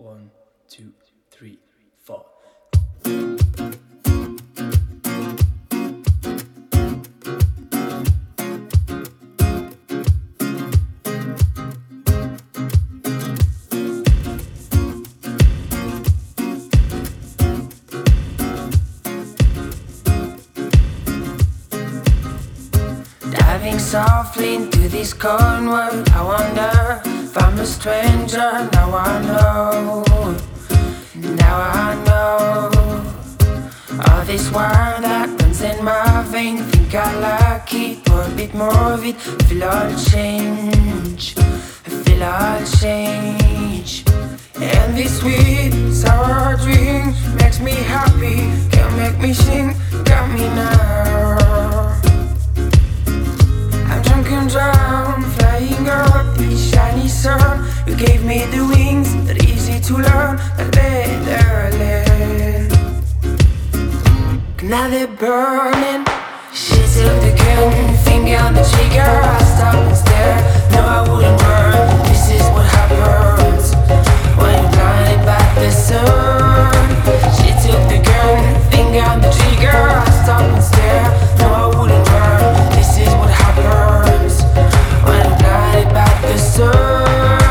One, two, three, four. Diving softly into this cold world, I wonder if I'm a stranger. Now I know, all this wire that runs in my vein. Think I like it, pour a bit more of it. Feel all change, feel all change. And this sweet, sour drink makes me happy, can make me sing, got me now. I'm drunk and drowned, flying up the shiny sun. You gave me the wings, that easy to learn, that better land. Now they're burning. She took the gun, finger on the trigger. I stop and stare, no I wouldn't burn. This is what happens when you're blinded by the sun. She took the gun, finger on the trigger. I stop and stare, no I wouldn't burn. This is what happens when you're blinded by the sun.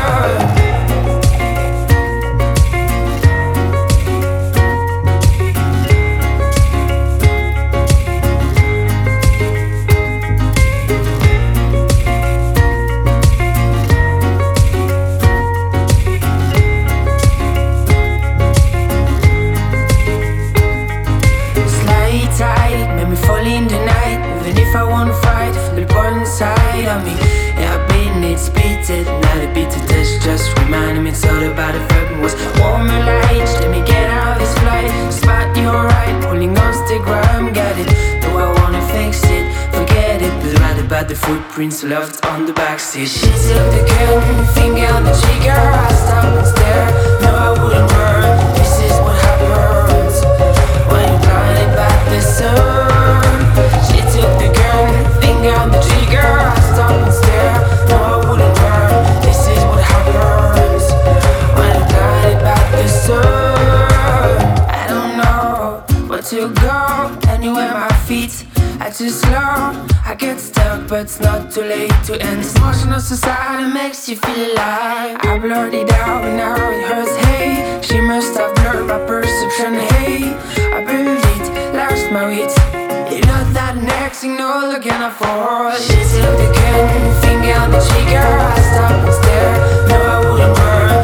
In the night, even if I wanna fight, feel it burn inside of me. Yeah, I've been it, spit it, now the bitter touch just reminding me it's all about the fucking was warmer lights. Let me get out of this flight, spot you're right, pulling on stick rhyme, got it. Though I wanna fix it, forget it, but right about the footprints left on the backseat. She took the gun, finger on the trigger. I stop and stare, no I wouldn't burn. This is what happens when you're blinded by the sun. She took the gun, finger on the trigger. I stop and stare, no I wouldn't burn. This is what happens when I'm blinded by the sun. I don't know where to go, anywhere my feet are too slow. I get stuck but it's not too late to end. This motion of society makes you feel alive. I blurred it out and now it hurts, hey. She must have blurred my perception, hey. I buried it, lost my wits. You know that next signal looking out for. She took the gun, finger on the trigger. I stop and stare, no I wouldn't burn.